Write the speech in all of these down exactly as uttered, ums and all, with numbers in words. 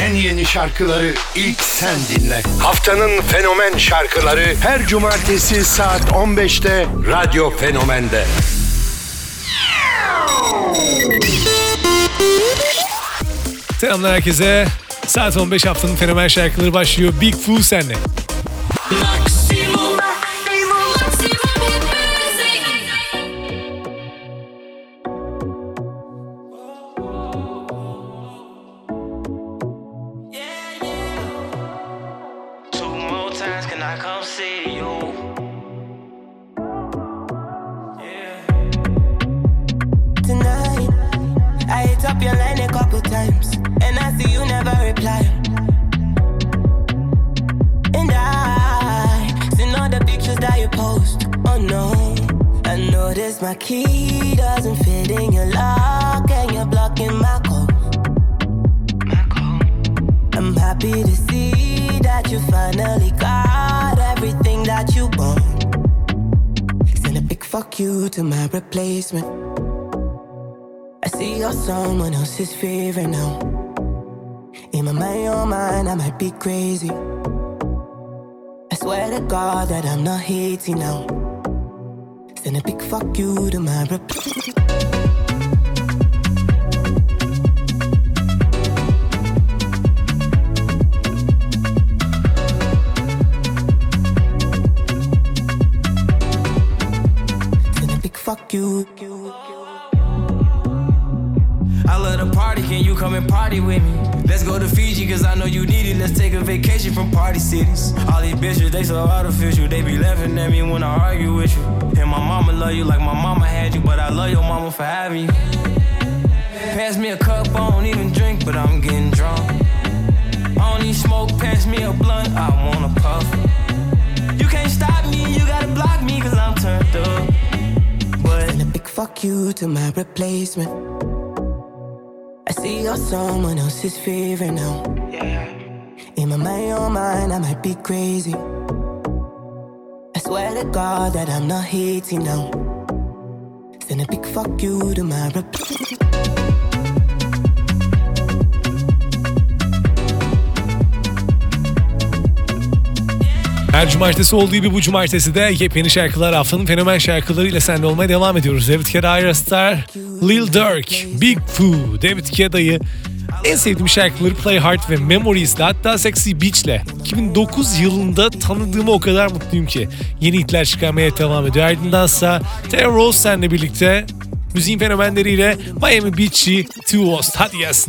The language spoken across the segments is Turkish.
en yeni şarkıları ilk sen dinle. Haftanın fenomen şarkıları her cumartesi saat on beşte Radyo Fenomen'de. Selamlar herkese. Saat on beş, haftanın fenomen şarkıları başlıyor. Big Foo senle. Maksimum. Up your line a couple times, and I see you never reply. And I seen all the pictures that you post. Oh no, I noticed my key doesn't fit in your lock, and you're blocking my code. I'm happy to see that you finally got everything that you want. Send a big fuck you to my replacement. I see you're someone else's favorite now. In my mind, your mind, I might be crazy. I swear to God that I'm not hating now. Send a big fuck you to my replacement. Send a big fuck you. I love to party, can you come and party with me? Let's go to Fiji, cause I know you need it. Let's take a vacation from party cities. All these bitches, they so artificial. They be laughing at me when I argue with you. And my mama love you like my mama had you, but I love your mama for having you. Pass me a cup, I don't even drink, but I'm getting drunk. I don't need smoke, pass me a blunt, I wanna puff. You can't stop me, you gotta block me, cause I'm turned up. But and a big fuck you to my replacement. I see you're someone else's favorite now. Yeah. In my mind, your mind, I might be crazy. I swear to God that I'm not hating now. Send a big fuck you to my replacement. Her cumartesi olduğu gibi bu cumartesi de yepyeni şarkılar, haftanın fenomen şarkılarıyla seninle olmaya devam ediyoruz. David Guetta, Ayra Starr, Lil Durk, Big Foo, David Guetta'yı en sevdiğim şarkıları Play Hard ve Memories'le, hatta Sexy Beach'le iki bin dokuz yılında tanıdığıma o kadar mutluyum ki yeni hitler çıkarmaya devam ediyor. Ardındansa Terror Rose seninle birlikte müziğin fenomenleriyle Miami Beach'i Two Host. Hadi gelsin.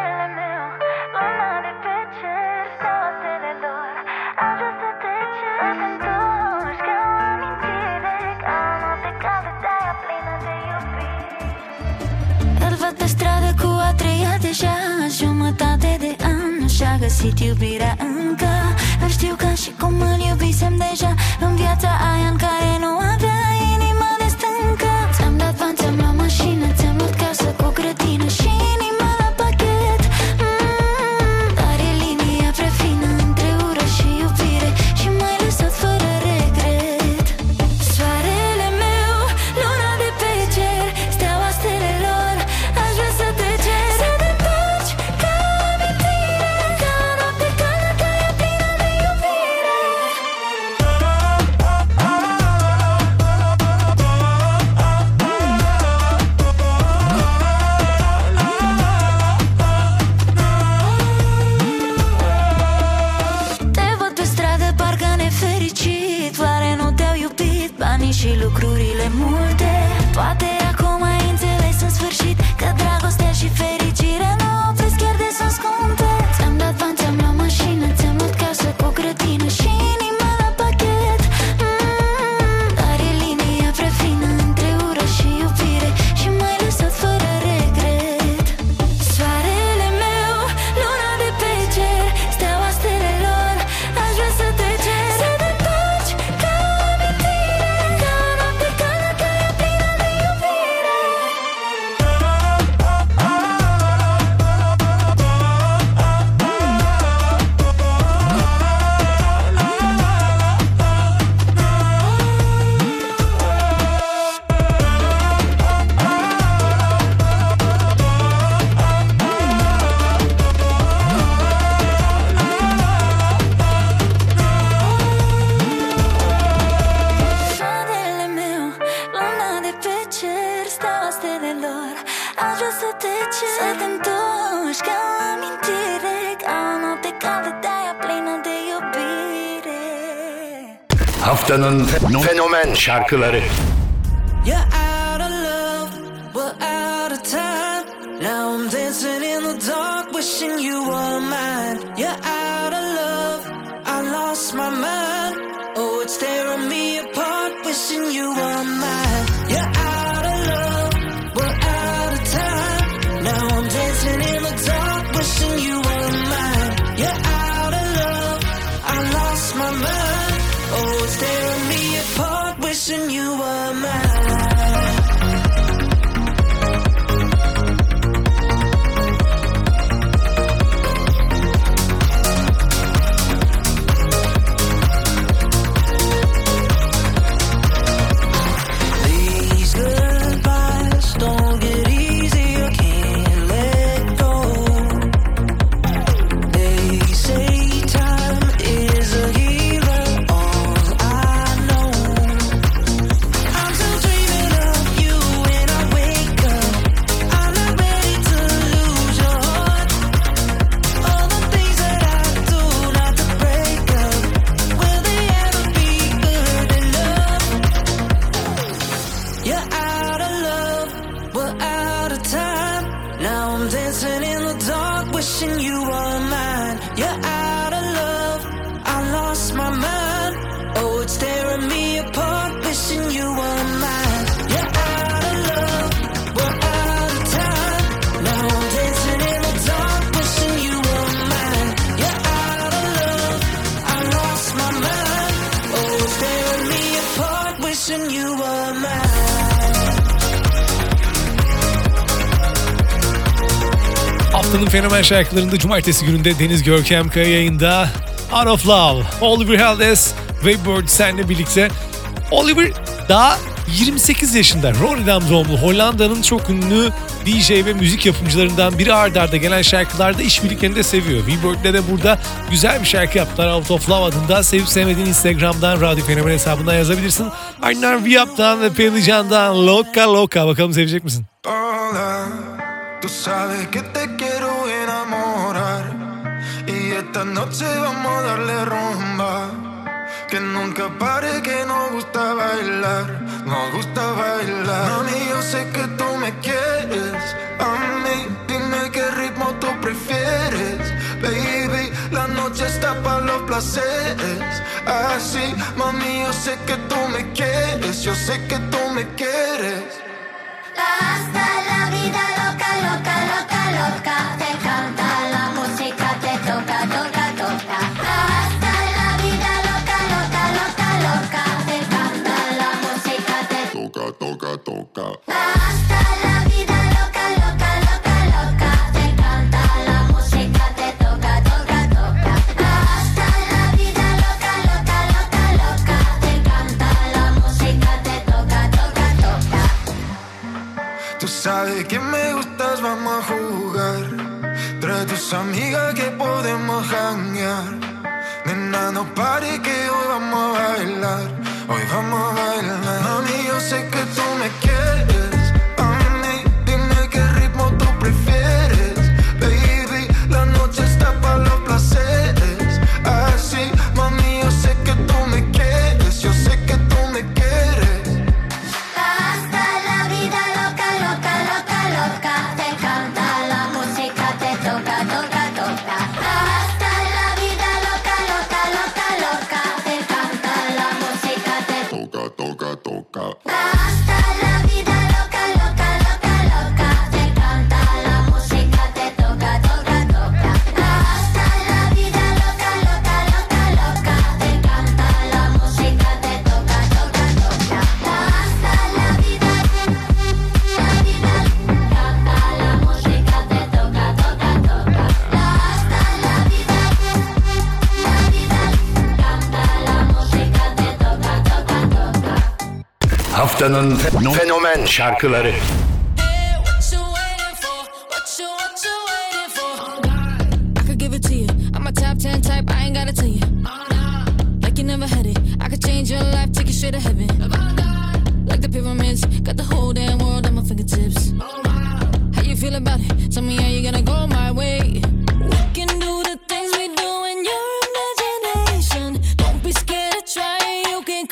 Jumătate de an nu și-a găsit iubirea încă. Dar știu că și cum îl iubisem deja în viața aia în care nu avea inima de stâncă. Ți-am dat bani, ți-am luat mașină, ți-am luat casă cu grădină și inima la pachet. mm, Dar e linia prea fină între ură și iubire și m-ai lăsat fără regret. Soarele meu, luna de pe cer, steaua stelelor, aș vrea să te cer să te întorci ca amintire, ca noapte caldă, ca ea plină de Haftanın fenomen şarkıları. You're out of love, we're out of time. Now I'm dancing in the dark, wishing you were mine. You're out of love, I lost my mind. Oh, it's tearing me apart, wishing you were mine. You're out of love, we're out of time. Now I'm dancing in the dark, wishing you were mine. You're out of love, I lost my mind. Oh, it's tearing me apart, wishing you were mine. Haftanın fenomen şarkılarında cumartesi gününde Deniz Görkem Kaya yayında. Out of Love, Oliver Heldens ve Bird senle birlikte. Oliver daha yirmi sekiz yaşında, Rotterdam doğumlu, Hollanda'nın çok ünlü D J ve müzik yapımcılarından biri. Arda arda gelen şarkılarda işbirliklerini de seviyor. V-Bird'le de burada güzel bir şarkı yaptılar, Out of Love adında. Sevip sevmediğin Instagram'dan, Radyo Fenomen hesabından yazabilirsin. Ardından V-Up'tan ve Pelli Can'dan Loca Loca. Bakalım sevecek misin? Hola, tú sabes que te quiero enamorar y esta noche vamos a darle rumba. Que nunca pare, que nos gusta bailar, nos gusta bailar. Mami, yo sé que tú me quieres, a mí dime qué ritmo tú prefieres. Baby, la noche está para los placeres. Así, mami, yo sé que tú me quieres, yo sé que tú me quieres. Hasta la vida loca, loca, loca, loca. Te canta la música, te toca, toca, toca. Hasta la vida loca, loca, loca, loca. Te canta la música, te toca, toca, toca. Hasta la vida loca, loca, loca, loca. Te canta la música, te toca, toca, toca. Hasta la vida loca, loca, loca, loca. Te canta la música, te toca, toca, toca. Tú sabes que me gustas, vamos a jugar. Trae tus amigas que podemos janguear. Nena, no pare que hoy vamos a bailar. Hoy vamos a bailar. Mami, yo sé que tú me quieres. A mí, dime qué ritmo tú prefieres. Baby, la noche está para los placeres. Así, mami, yo sé que tú me quieres. Yo sé que tú me quieres. Hasta la vida loca, loca, loca, loca. Te canta la música, te toca, toca, toca. Hasta la vida loca, loca, loca, loca. Te canta la música, te Toca, toca, toca. Hasta la vida loca, loca, loca, loca. Te canta la música, te toca, toca, toca. Hasta la vida loca, loca, loca, loca. Te canta la música, te toca, toca, toca. Hasta la vida, la vida, canta la música, te toca, toca, toca. Hasta la vida, la vida, canta la música, te toca, toca, toca. Haftanın fenomen şarkıları. Hey, what you waiting for? What you, what you waiting for? I could give it to you. I'm a top ten type, I ain't gotta tell you. Like you never had it. I could change your life, take you straight to heaven. Like the pyramids, got the whole damn world at my fingertips. How you feel about it? Tell me how you gonna go my way. We can do the things we do in your imagination. Don't be scared to try, you can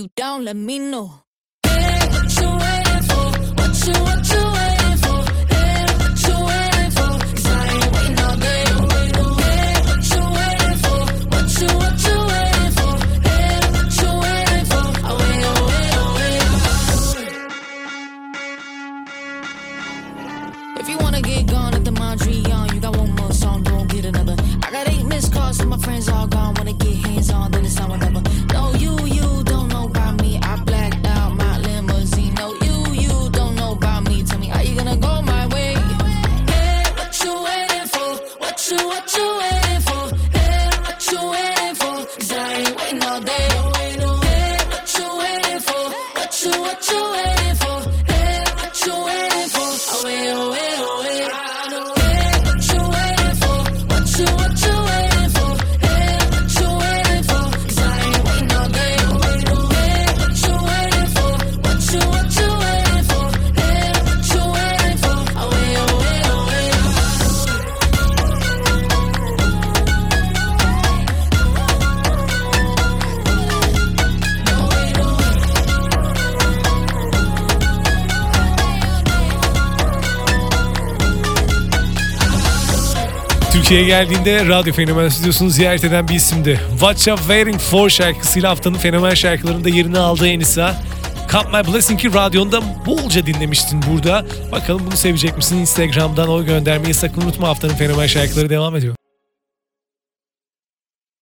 you down, let me know. Hey, what you waiting for? What you, what you waiting for? Hey, what you waiting for? 'Cause I ain't waiting all day. Hey, what you waiting for? What you, what you waiting for? Hey, what you waiting for? Oh, wait, oh, wait, oh, wait. If you wanna get gone at the Mondrian, you got one more song, don't get another. I got eight missed calls, so my friends all gone. Wanna get hands on, then it's on whatever. No, you, you don't know about me. I blacked out my limousine. No, you, you don't know about me. Tell me, are you gonna go my way? Hey, what you waiting for? What you, what you waiting for? Hey, what you waiting for? 'Cause I ain't waiting all day. Hey, what you waiting for? What you, what you waiting for? Hey, what you waiting for? Oh, wait, oh, wait, oh, wait. Hey, what you waiting for? What you, what you waiting for? Hey, what you waiting for? 'Cause I ain't waiting all day. Hey, what you waiting for? What you, what you waiting for? Hey, what you waiting for? Oh, wait, oh, wait, oh, wait. Türkiye'ye geldiğinde Radyo Fenomen stüdyosunu ziyaret eden bir isimdi. What You Waiting For şarkısıyla haftanın fenomen şarkılarında yerini aldı Enisa. Count My Blessing'i radyonda bolca dinlemiştin burada. Bakalım bunu sevecek misin? Instagram'dan oy göndermeyi sakın unutma. Haftanın fenomen şarkıları devam ediyor.